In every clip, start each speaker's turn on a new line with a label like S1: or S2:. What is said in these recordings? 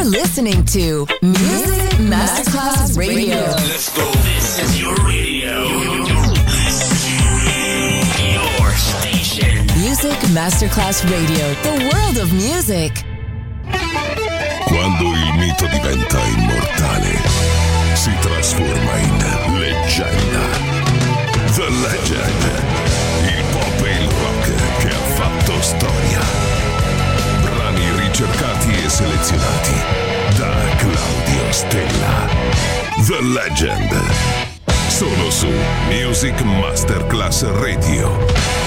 S1: You're listening to Music Masterclass Radio.
S2: Let's go. This is your radio. Your station.
S1: Music Masterclass Radio. The world of music.
S3: Quando il mito diventa immortale, si trasforma in leggenda. The Legend. Il pop e il rock che ha fatto storia. Brani ricercati e selezionati da Claudio Stella. The Legend. Solo su Music Masterclass Radio.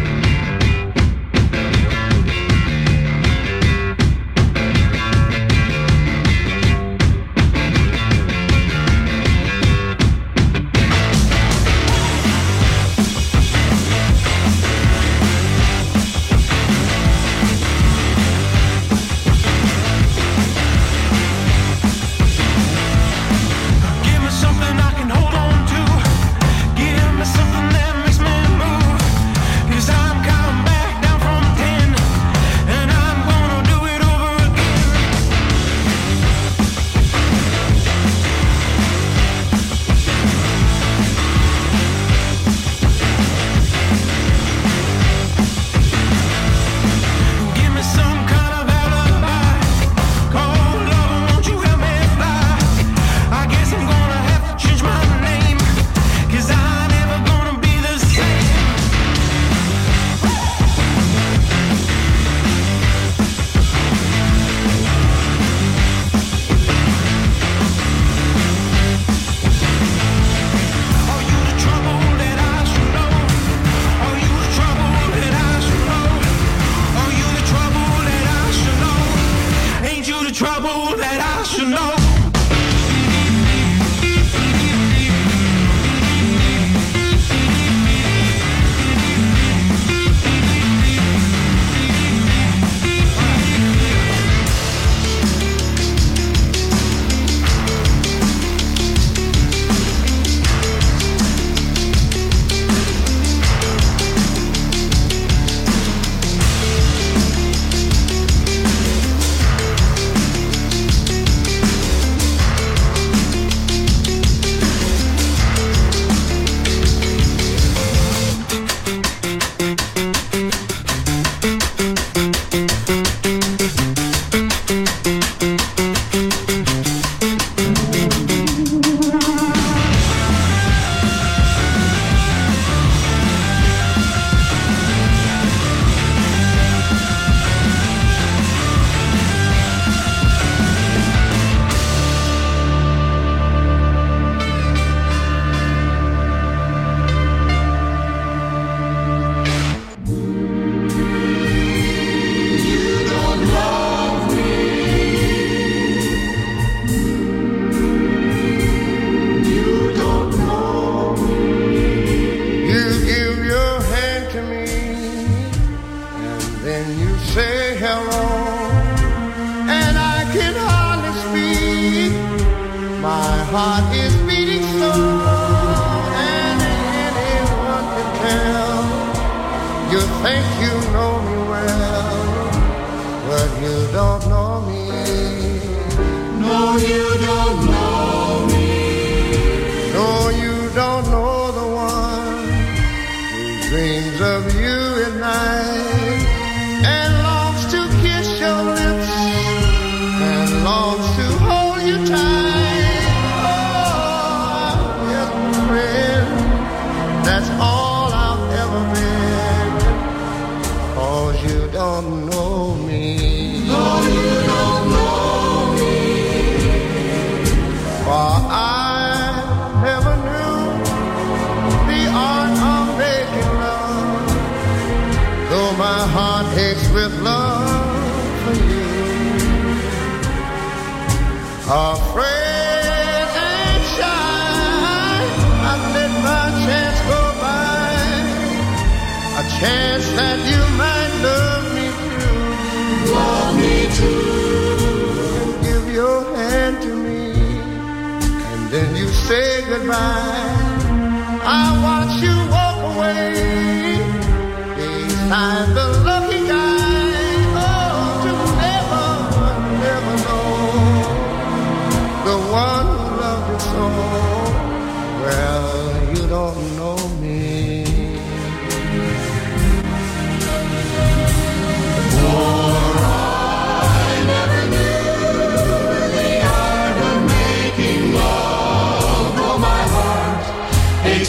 S4: I'm the lucky guy, oh, to never, never know.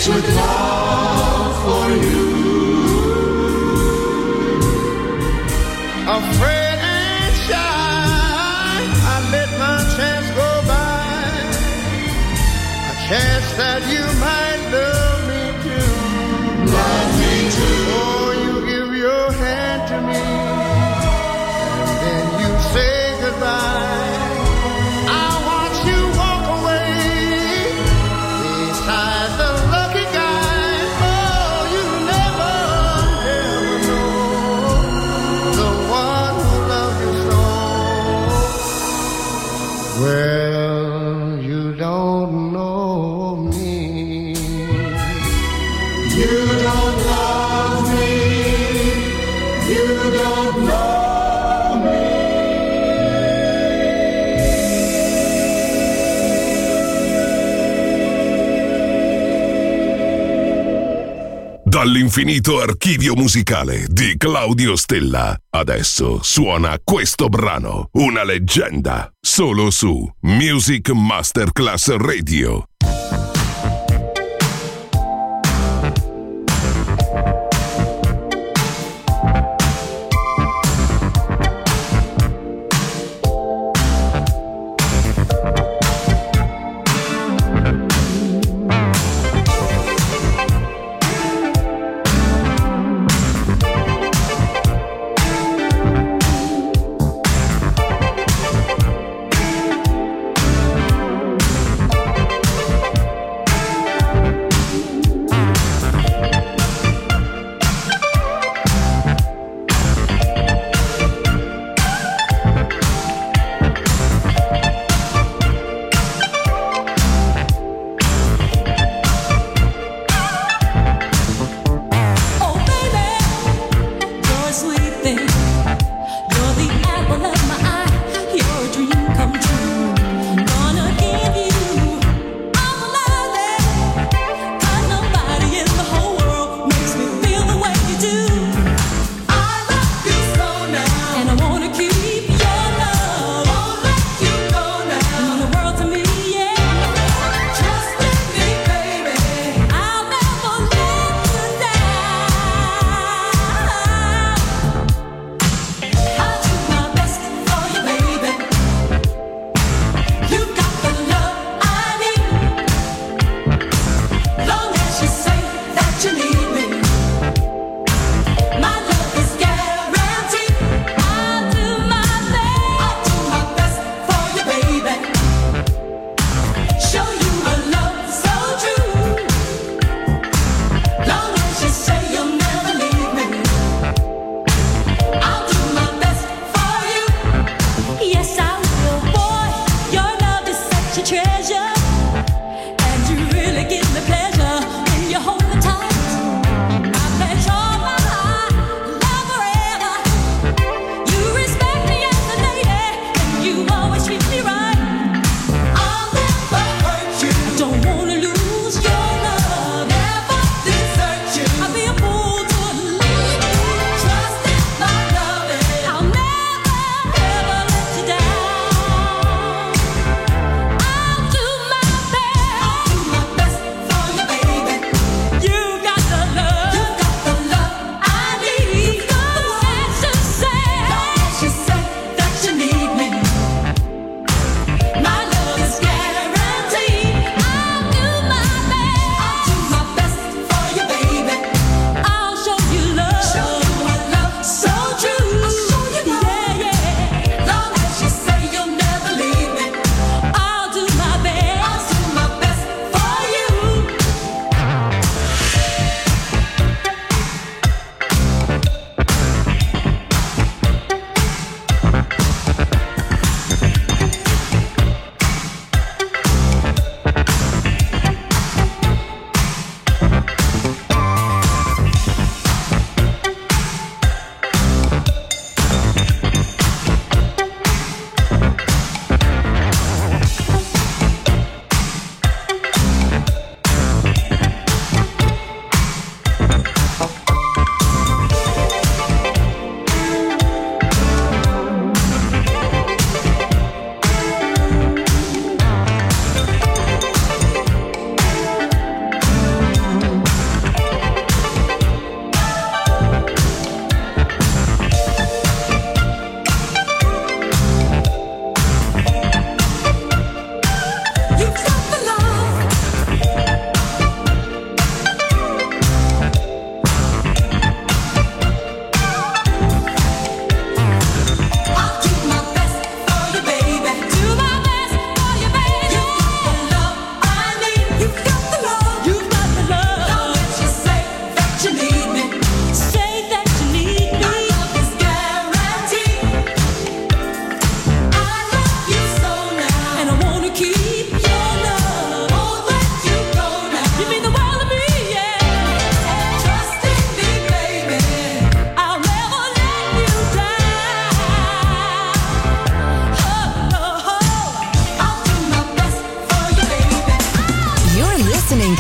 S4: with love for you.
S5: Afraid and shy, I let my chance go by. A chance that you might love me too.
S4: Love me too.
S5: Oh, you give your hand to me, and then you say goodbye. I watch you walk away beside the lucky guy. Oh, you never, never know the one who loved you so. Well, you don't know me.
S4: You don't love me. You don't know me.
S3: Dall'infinito archivio musicale di Claudio Stella. Adesso suona questo brano, una leggenda, solo su Music Masterclass Radio.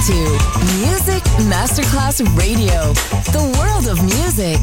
S1: to Music Masterclass Radio, the world of music.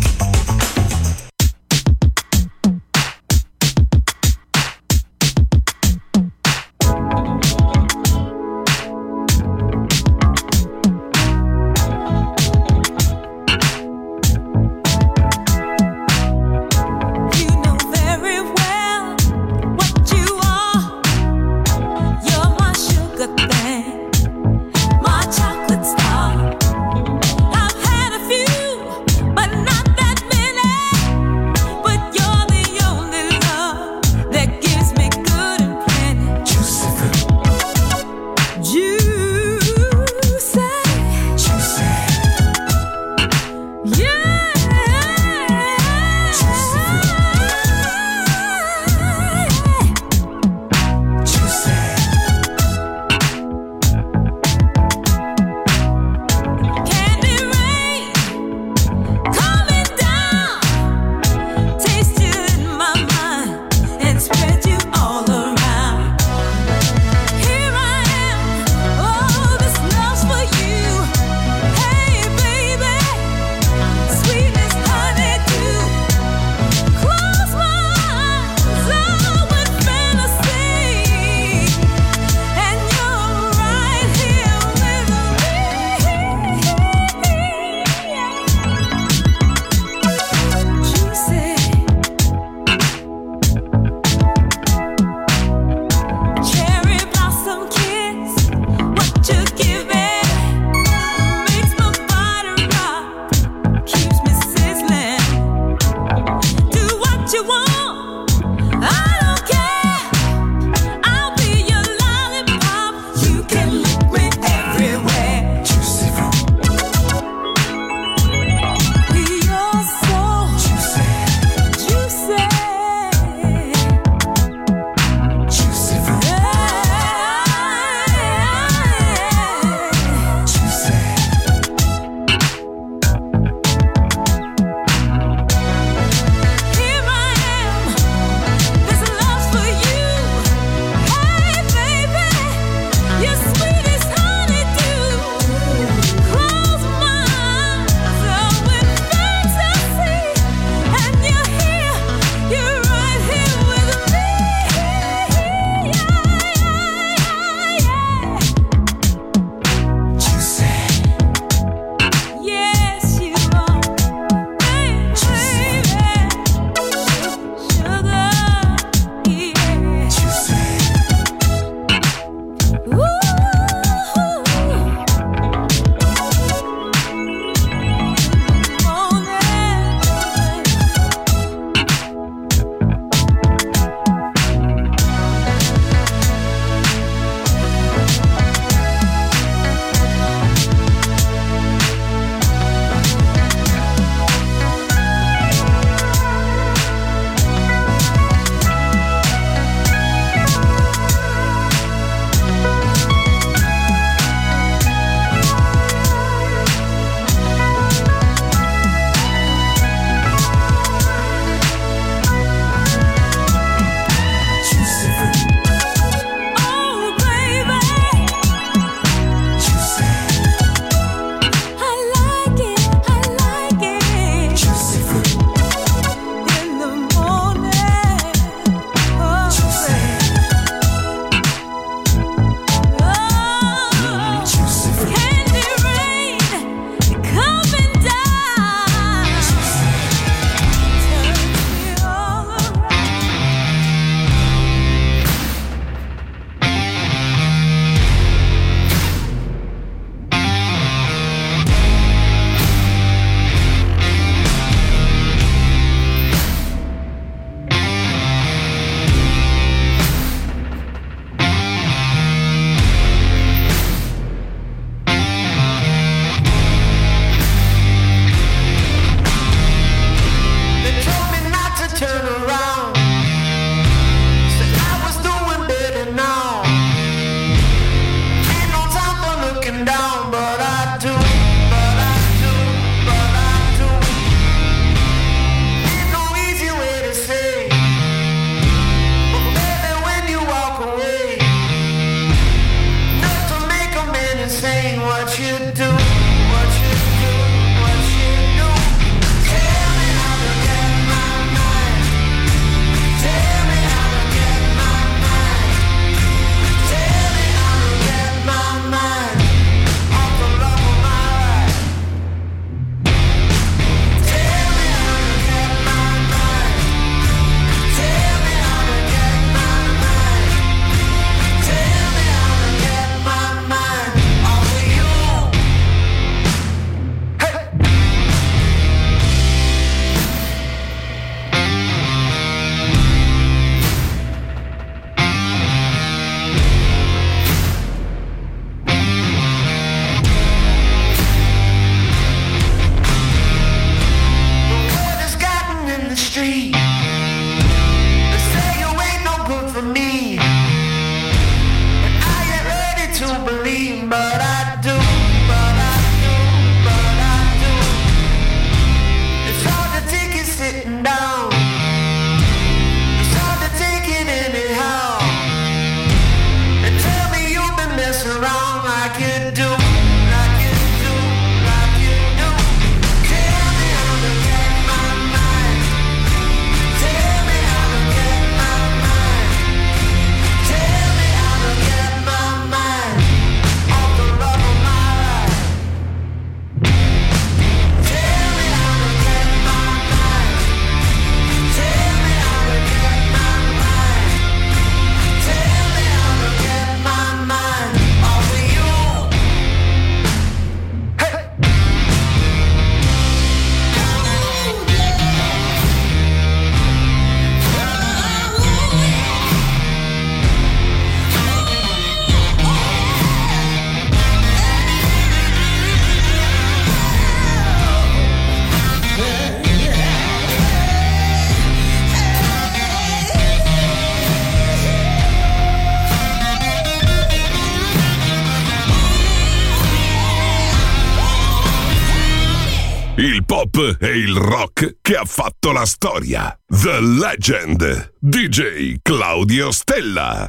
S3: pop e il rock che ha fatto la storia. The Legend, DJ Claudio Stella.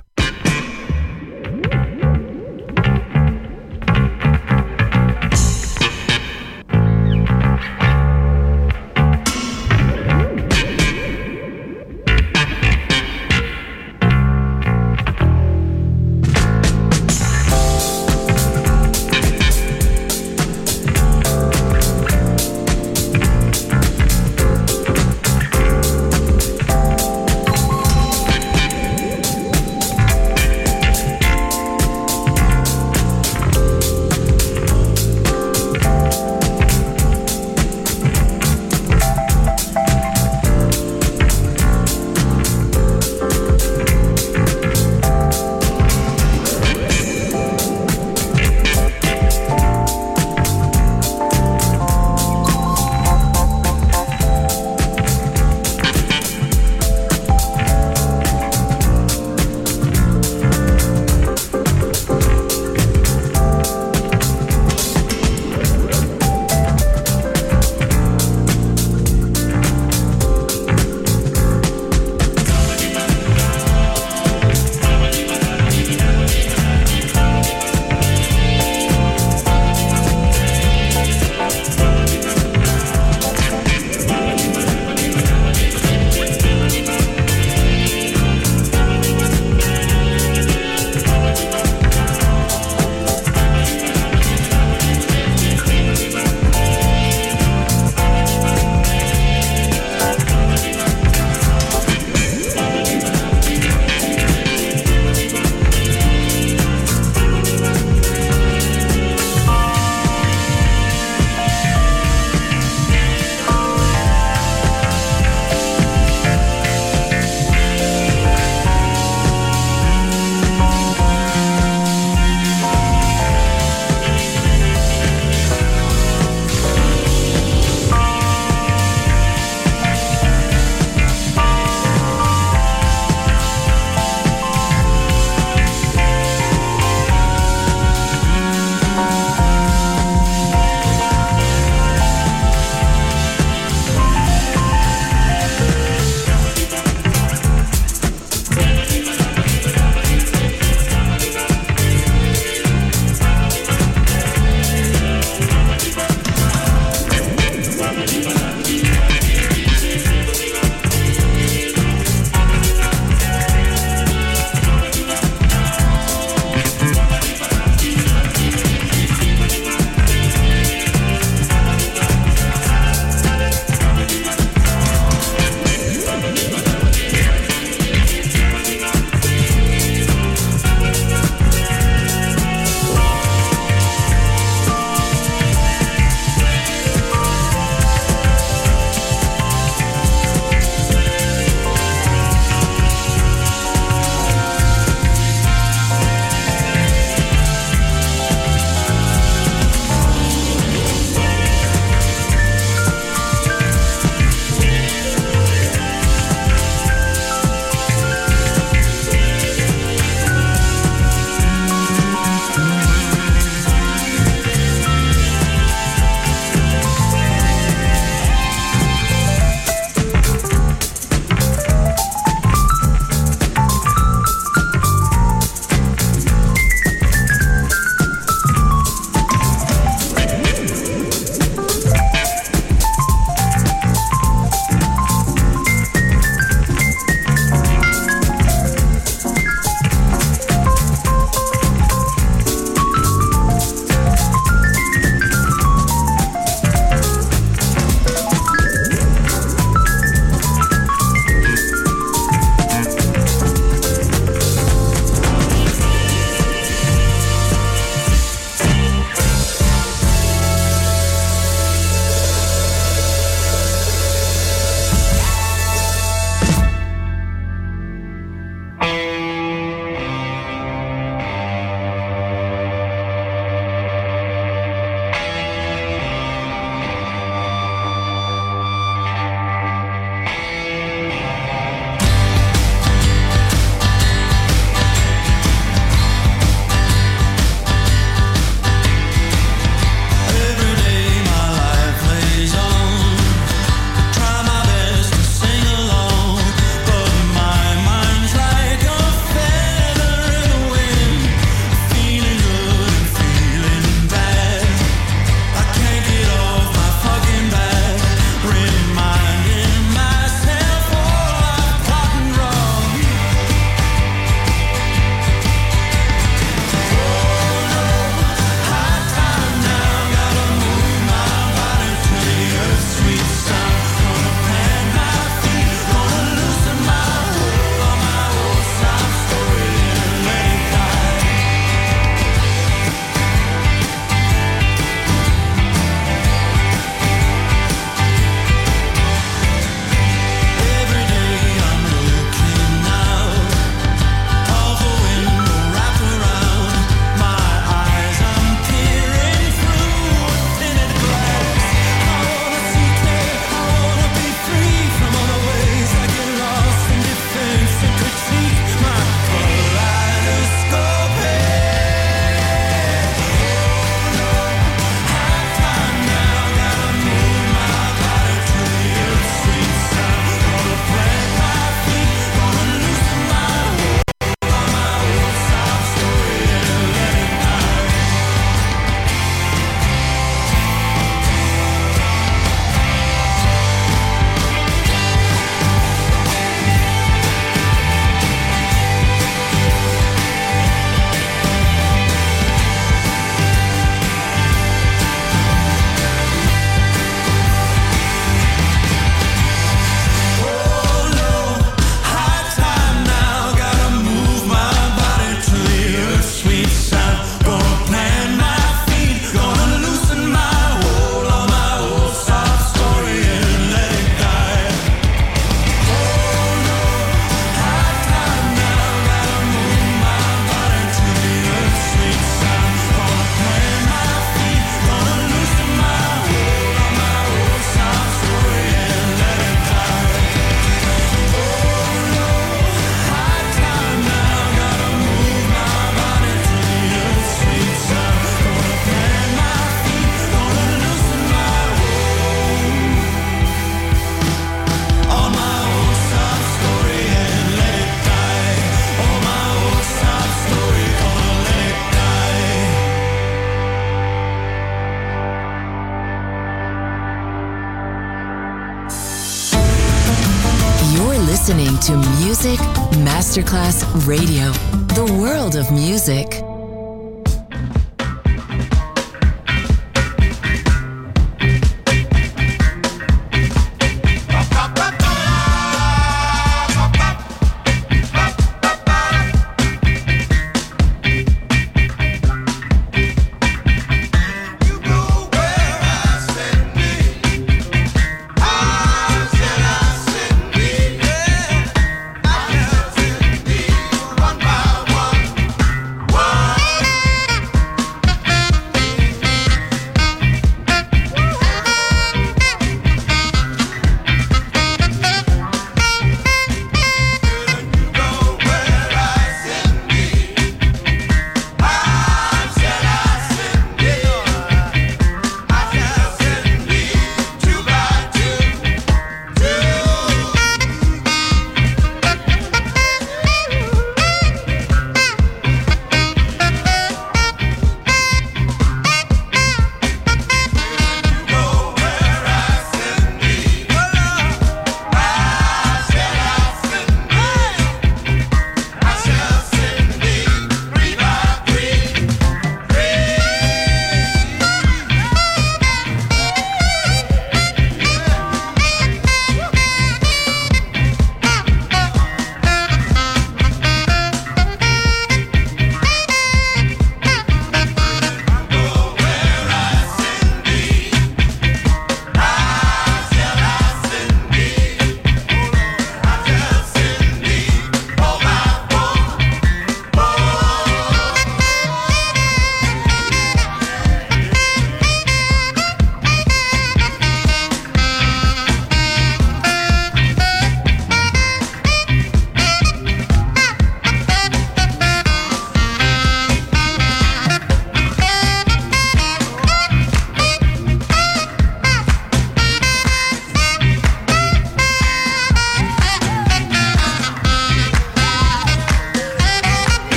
S1: Masterclass Radio, the world of music.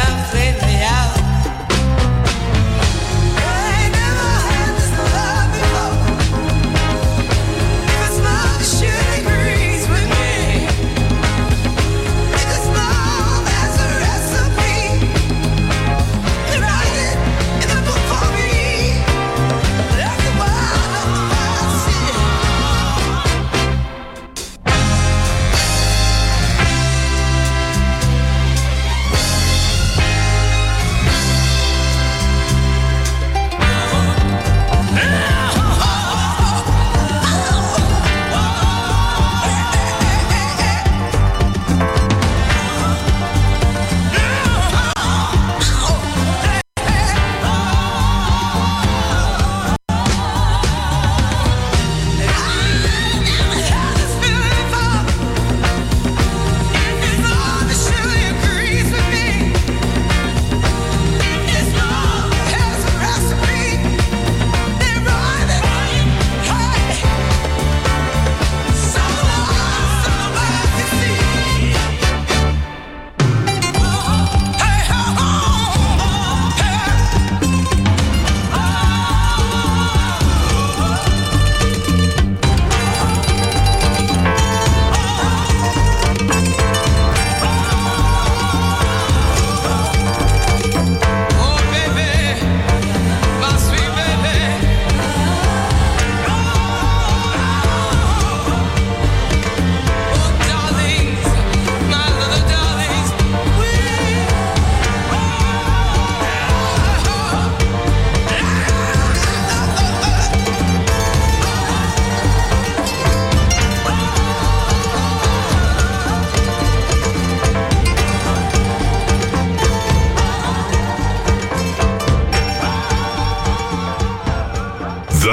S6: Completely out. I never had this love before.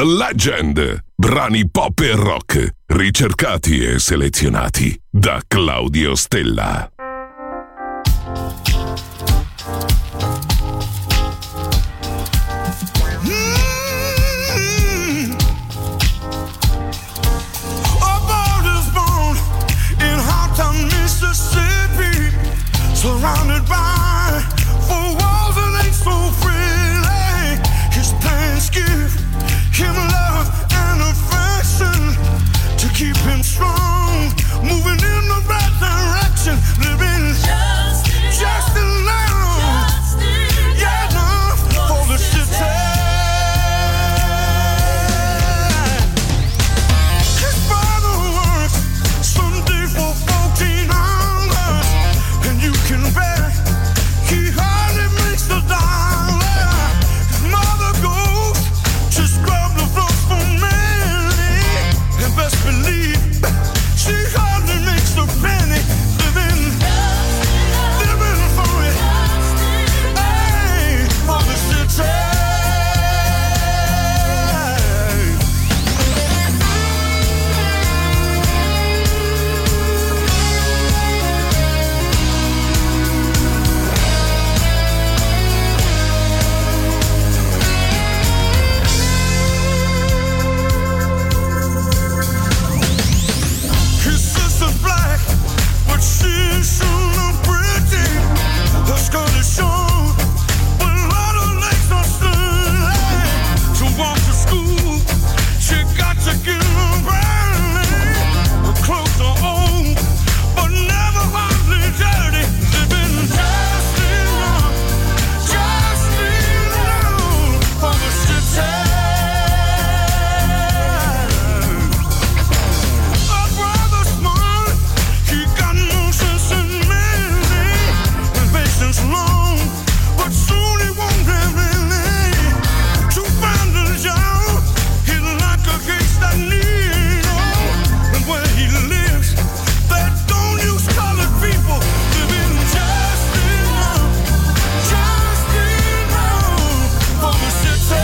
S3: Legend. Brani pop e rock, ricercati e selezionati da Claudio Stella.
S6: Surrounded by four walls that ain't so friendly. His parents give him love and affection to keep him strong, moving in the right direction, living just enough, yeah, enough for the city. His father works Sunday for 14 hours, and you can bet he hardly makes the dollar. His mother goes to scrub the floors for Mary, and best believe she hardly makes a penny, living for it, hey, for the city. His sister's black, but she's sure not pretty. Her skirt is short, but a lot of legs are still. To walk to school, she got to get them early. Her clothes are old, but never hardly dirty. Living just enough for the city. Our brother's smart, he got no sense in many, and patience long, but soon he won't have any. To find a job, he's like a case that needle, and where he lives, they don't use colored people. Living just enough for the city.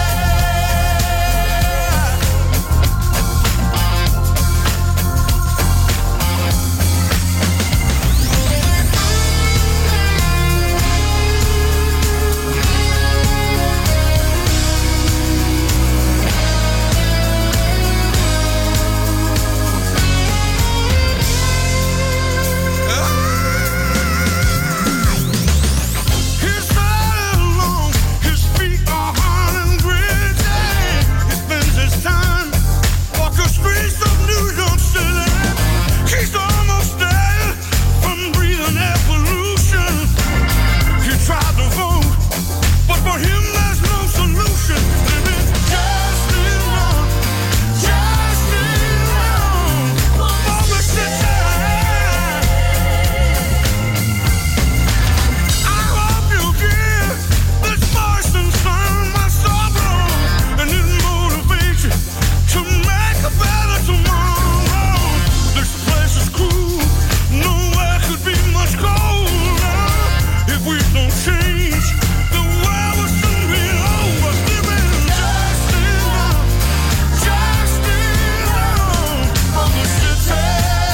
S6: His side is long, his feet are hard and gritty. He spends his time walking streets of New York City. He's almost dead from breathing air pollution. He tried to vote, but for him there's no solution. Living just enough for the city. I hope you give this voice inside my sorrow, and it motivates you to make a better tomorrow. This place is cruel, nowhere could be much colder. If we don't change, the world will soon be over. Living just enough for the city.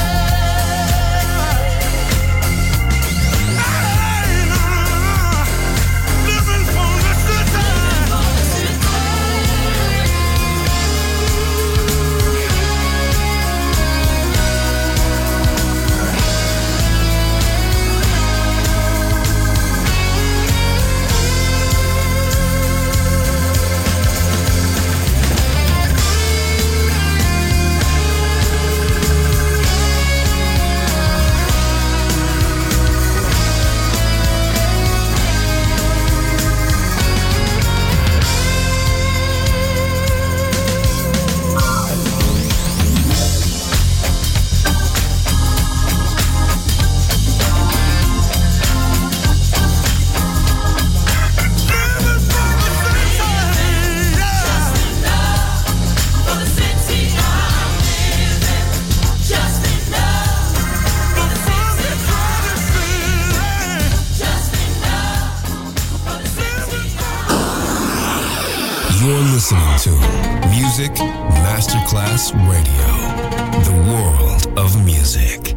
S6: Living for the city.
S7: You're listening to Music Masterclass Radio. The world of music.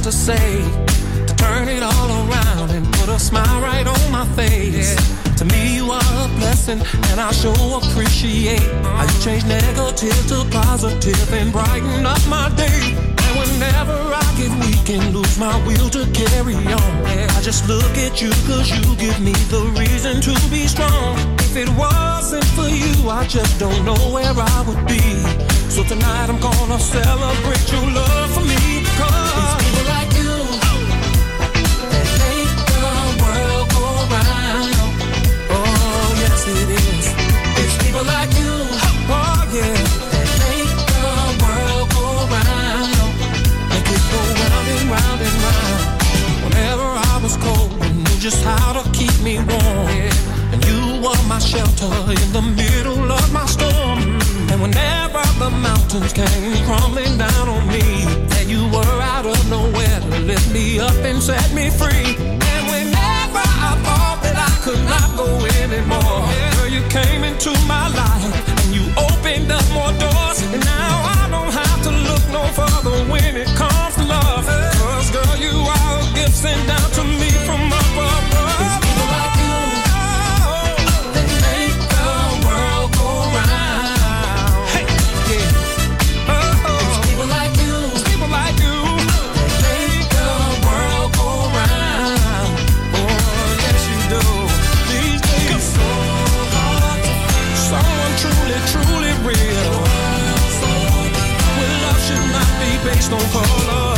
S8: to say to turn it all around and put a smile right on my face. To me you are a blessing and I sure appreciate how you change negative to positive and brighten up my day. And whenever I get weak and lose my will to carry on, I just look at you cause you give me the reason to be strong. If it wasn't for you, I just don't know where I would be. So tonight I'm gonna celebrate your love for me. Cause it's people like you that make the world go round. Oh yes it is. It's people like you, oh yeah, that make the world go round. Make it go round and round and round. Whenever I was cold, you knew just how to keep me warm. And you were my shelter in the middle of my storm. And whenever the mountains came crumbling down on me, that you were out of nowhere to lift me up and set me free. And whenever I thought that I could not go anymore, girl, you came into my life and you opened up more doors. And now I don't have to look no further when it comes to love. Cause girl, you are a gift sent down to me from up above. It's people like you that make the world go round. Hey, yeah. It's people like you that make the world go round. Oh, yes you do. These days so hard to find someone truly, truly real. Well, love should not be based on color.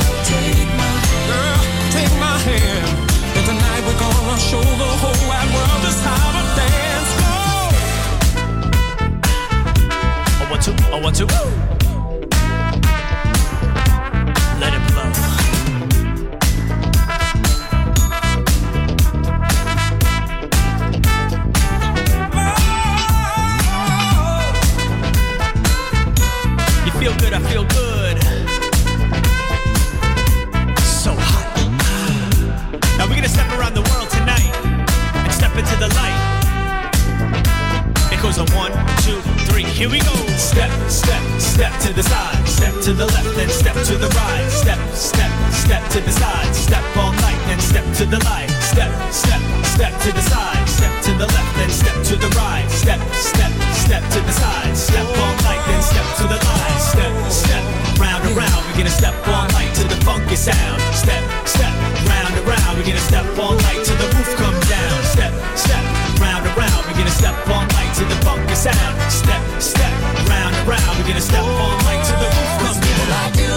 S8: Take my hand, and tonight we're gonna show the whole wide world just how to dance. Go!
S2: I want to. Let it blow. You feel good, I feel good. So hot. Now we're gonna step around the world tonight and step into the light. It goes on 1, 2, 3, here we go. Step, step, step to the side. Step to the left, then step to the right. Step, step, step to the side. Step all night, then step to the light. Step, step, step to the side. Step to the left, then step to the right. Step, step, step to the side. Step all night, then step to the light. Step, step, round and round. We're gonna step all night to the funky sound. Step, step, round and round. We're gonna step all night till the roof comes down. Step, step, round and round. We're gonna step all night to the funky sound. Step, step, round and round. We're gonna step all night till the roof comes down. Like you,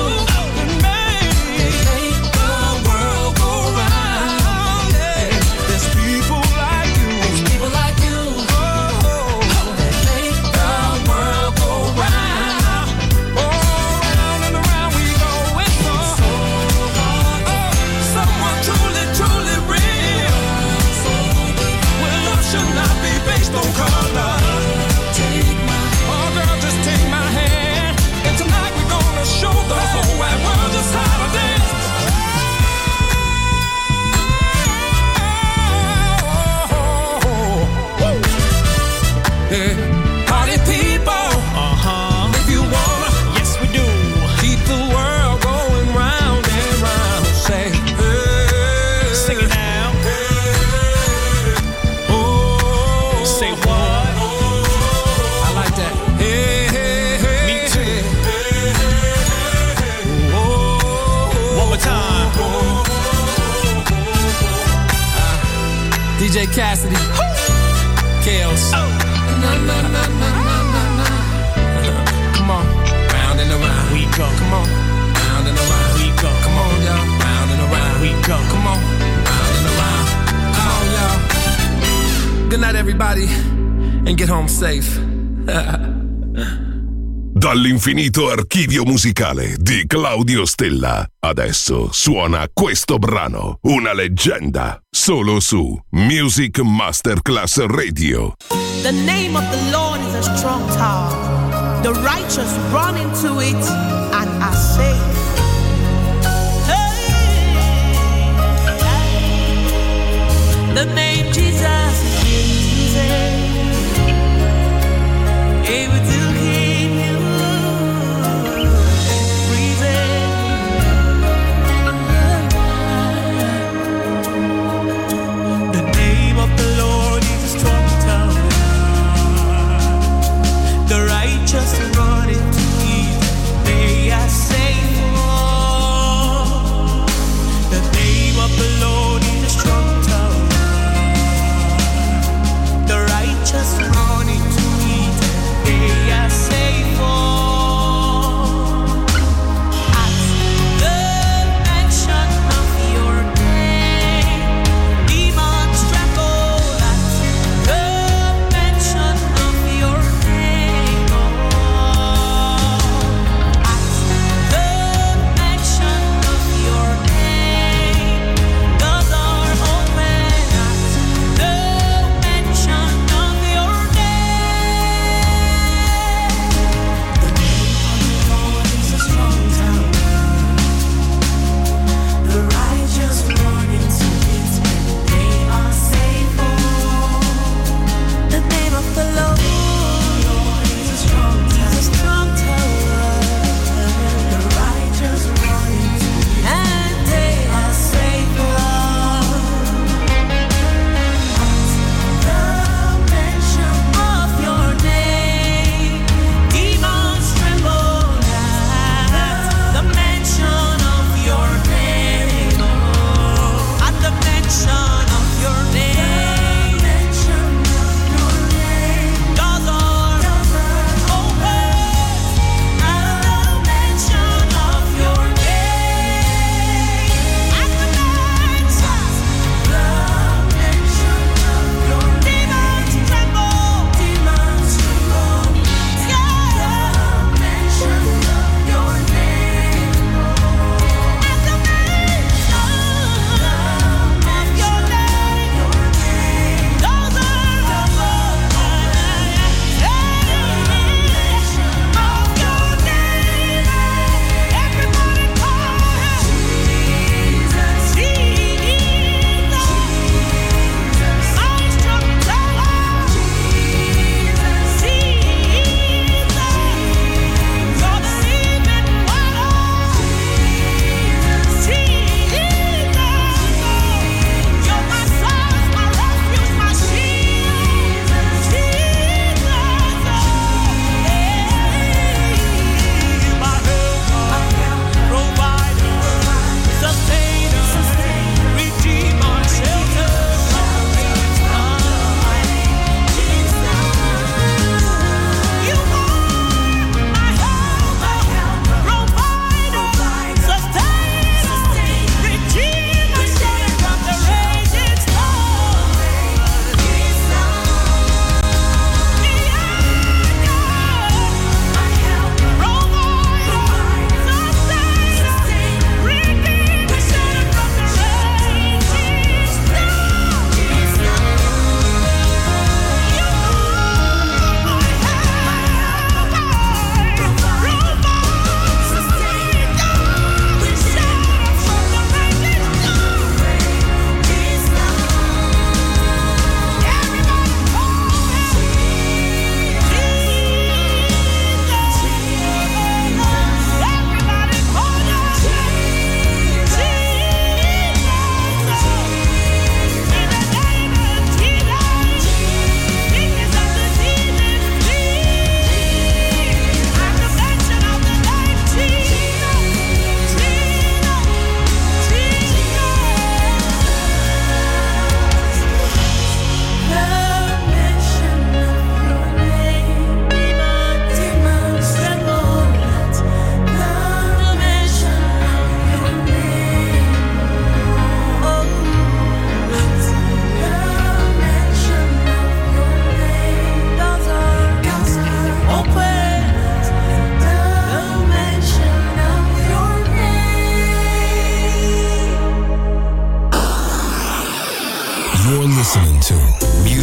S2: make the world go round. There's people like you. There's people like you. That make the world go round. Oh, round and around we go. It's so hard. Someone truly, truly real. Well, love should not be based on color. Oh, girl, just take my hand. And tonight we're gonna show the whole wide world just how to dance. Yeah. Party people. If you wanna, yes we do. Keep the world going round and round. Say, hey. Sing it now. Hey. Oh. Say what? I like that. Hey, hey, hey. Me too. Hey, hey, hey. Oh. One more time. DJ Cassidy. Chaos. Oh. Na, na, na, na, na, na. Come on, round and around we go. Come on, round and around we go. Come on, y'all, round and around we go. Come on, round and around. Come on, y'all. Good night, everybody, and get home safe.
S3: Dall'infinito archivio musicale di Claudio Stella. Adesso suona questo brano, una leggenda, solo su Music Masterclass Radio.
S9: The name of the Lord is a strong tower. The righteous run into it and are saved. Hey, the name Jesus is easy. Able to keep you breathing.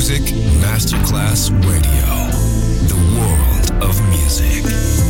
S7: Music Masterclass Radio. The world of music.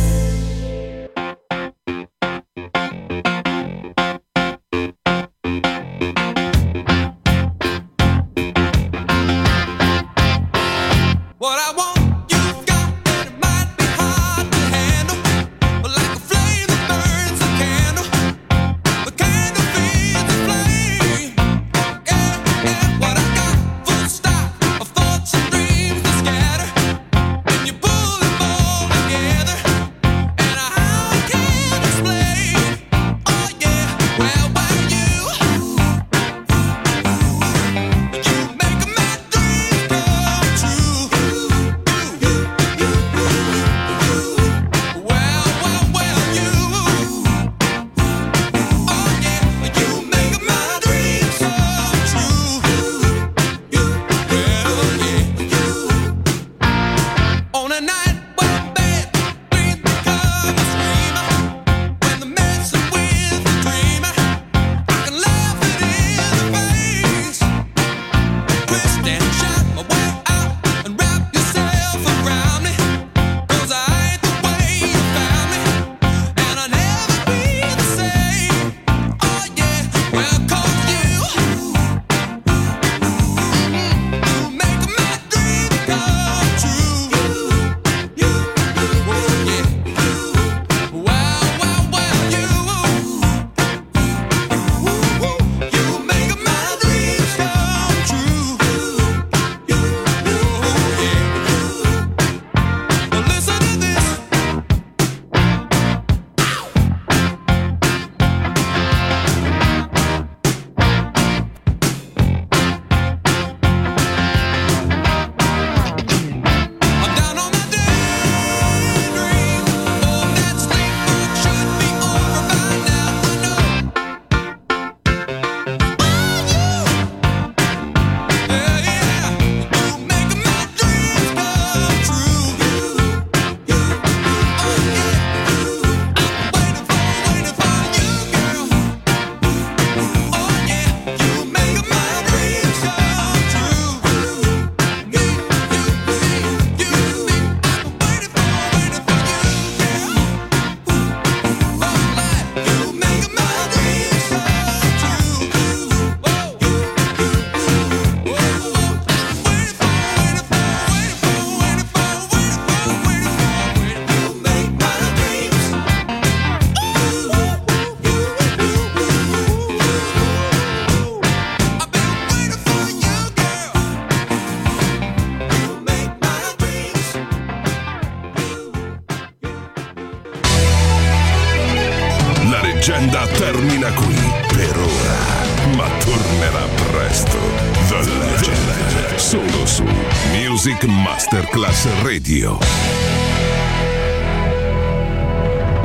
S3: Termina qui per ora, ma tornerà presto. The Legend, solo su Music Masterclass Radio.